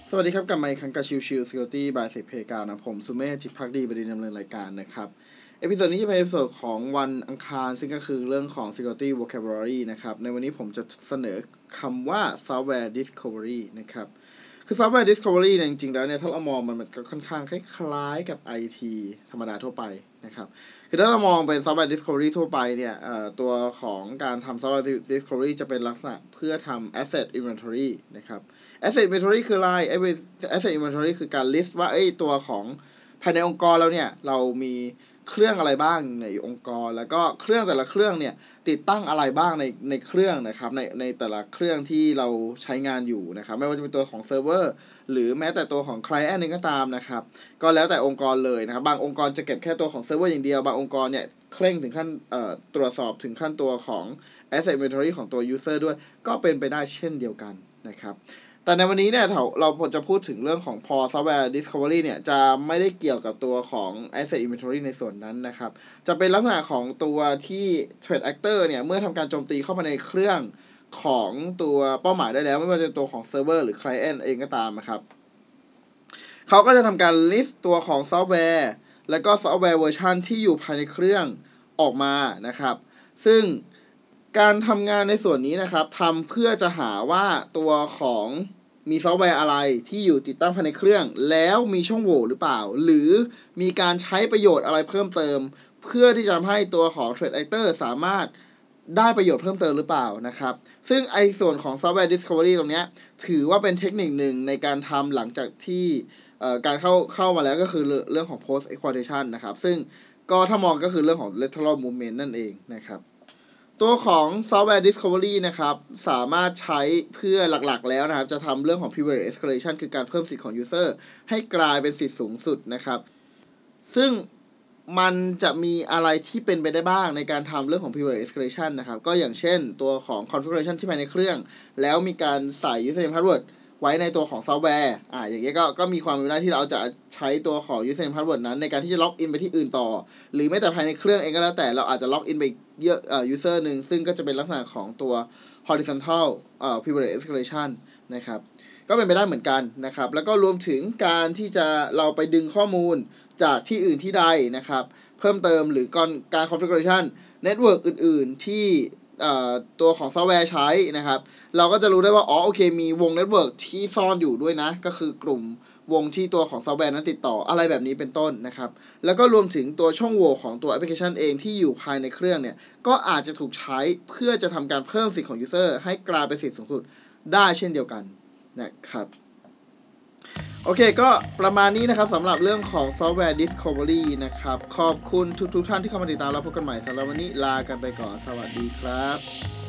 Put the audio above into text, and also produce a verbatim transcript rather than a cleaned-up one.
สวัสดีครับกลับมาอีกครั้งกับชิวชิว Security by เซกเพกานะผมสุเมธจิตภักดีบดีดำเนินรายการนะครับเอพิโซดนี้จะเป็นเอพิโซดของวันอังคารซึ่งก็คือเรื่องของ Security Vocabulary นะครับในวันนี้ผมจะเสนอคำว่า Software Discovery นะครับคือ Software Discovery เนี่ยจริงๆแล้วเนี่ยถ้าเรามองมันมันก็ค่อนข้างคล้ายๆกับ ไอ ที ธรรมดาทั่วไปนะครับคือถ้าเรามองเป็น Software Discovery ทั่วไปเนี่ยตัวของการทำ Software Discovery จะเป็นลักษณะเพื่อทำ Asset Inventory นะครับ Asset Inventory คืออะไร Asset Inventory คือการ list ว่าไอ้ตัวของภายในองค์กรเราเนี่ยเรามีเครื่องอะไรบ้างในองค์กรแล้วก็เครื่องแต่ละเครื่องเนี่ยติดตั้งอะไรบ้างในในเครื่องนะครับในในแต่ละเครื่องที่เราใช้งานอยู่นะครับไม่ว่าจะเป็นตัวของเซิร์ฟเวอร์หรือแม้แต่ตัวของไคลเอนต์เองก็ตามนะครับก็แล้วแต่องค์กรเลยนะครับบางองค์กรจะเก็บแค่ตัวของเซิร์ฟเวอร์อย่างเดียวบางองค์กรเนี่ยเคร่งถึงขั้นเอ่อตรวจสอบถึงขั้นตัวของ Asset Inventory ของตัว User ด้วยก็เป็นไปได้เช่นเดียวกันนะครับแต่ในวันนี้เนี่ยเราจะพูดถึงเรื่องของพอ Software Discovery เนี่ยจะไม่ได้เกี่ยวกับตัวของ Asset Inventory ในส่วนนั้นนะครับจะเป็นลักษณะของตัวที่ Threat Actor เนี่ยเมื่อทำการโจมตีเข้ามาในเครื่องของตัวเป้าหมายได้แล้วไม่ว่าจะเป็นตัวของ Server หรือ Client เองก็ตามนะครับเขาก็จะทำการ list ตัวของซอฟต์แวร์และก็ซอฟต์แวร์เวอร์ชันที่อยู่ภายในเครื่องออกมานะครับซึ่งการทำงานในส่วนนี้นะครับทำเพื่อจะหาว่าตัวของมีซอฟต์แวร์อะไรที่อยู่ติดตั้งภายในเครื่องแล้วมีช่องโหว่หรือเปล่าหรือมีการใช้ประโยชน์อะไรเพิ่มเติมเพื่อที่จะทำให้ตัวของ Threat Actor สามารถได้ประโยชน์เพิ่มเติมหรือเปล่านะครับซึ่งไอ้ส่วนของ Software Discovery ตรงนี้ถือว่าเป็นเทคนิคหนึ่งในการทำหลังจากที่การเข้าเข้ามาแล้วก็คือเรื่องของ Post Exploitation นะครับซึ่งก็ถ้ามองก็คือเรื่องของ lateral movement นั่นเองนะครับตัวของ Software Discovery นะครับสามารถใช้เพื่อหลักๆแล้วนะครับจะทำเรื่องของ Privilege Escalation คือการเพิ่มสิทธิ์ของ User ให้กลายเป็นสิทธิ์สูงสุดนะครับซึ่งมันจะมีอะไรที่เป็นไปได้บ้างในการทำเรื่องของ Privilege Escalation นะครับก็อย่างเช่นตัวของ Configuration ที่ภายในเครื่องแล้วมีการใส่ Username Password ไว้ในตัวของซอฟต์แวร์อ่าอย่างเงี้ยก็ก็มีความเป็นไปได้ที่เราจะใช้ตัวของ Username Password นั้นในการที่จะล็อกอินไปที่อื่นต่อหรือแม้แต่ภายในเครื่องเองก็แล้วแต่เราอาจจะล็อกอินไปเยอะเอ่อ user นึงซึ่งก็จะเป็นลักษณะของตัว horizontal เอ่อ privilege escalation นะครับก็เป็นไปได้เหมือนกันนะครับแล้วก็รวมถึงการที่จะเราไปดึงข้อมูลจากที่อื่นที่ใดนะครับเพิ่มเติมหรือการการ configuration network อื่นๆที่ตัวของซอฟต์แวร์ใช้นะครับเราก็จะรู้ได้ว่าอ๋อโอเคมีวงเน็ตเวิร์กที่ซ่อนอยู่ด้วยนะก็คือกลุ่มวงที่ตัวของซอฟต์แวร์นั้นติดต่ออะไรแบบนี้เป็นต้นนะครับแล้วก็รวมถึงตัวช่องโหว่ของตัวแอปพลิเคชันเองที่อยู่ภายในเครื่องเนี่ยก็อาจจะถูกใช้เพื่อจะทำการเพิ่มสิทธิ์ของ User ให้กลายเป็นสิทธิ์สูงสุดได้เช่นเดียวกันนะครับโอเคก็ประมาณนี้นะครับสำหรับเรื่องของ Software Discovery นะครับขอบคุณทุกๆท่านที่เข้ามาติดตามแล้วพบกันใหม่สำหรับวันนี้ลากันไปก่อนสวัสดีครับ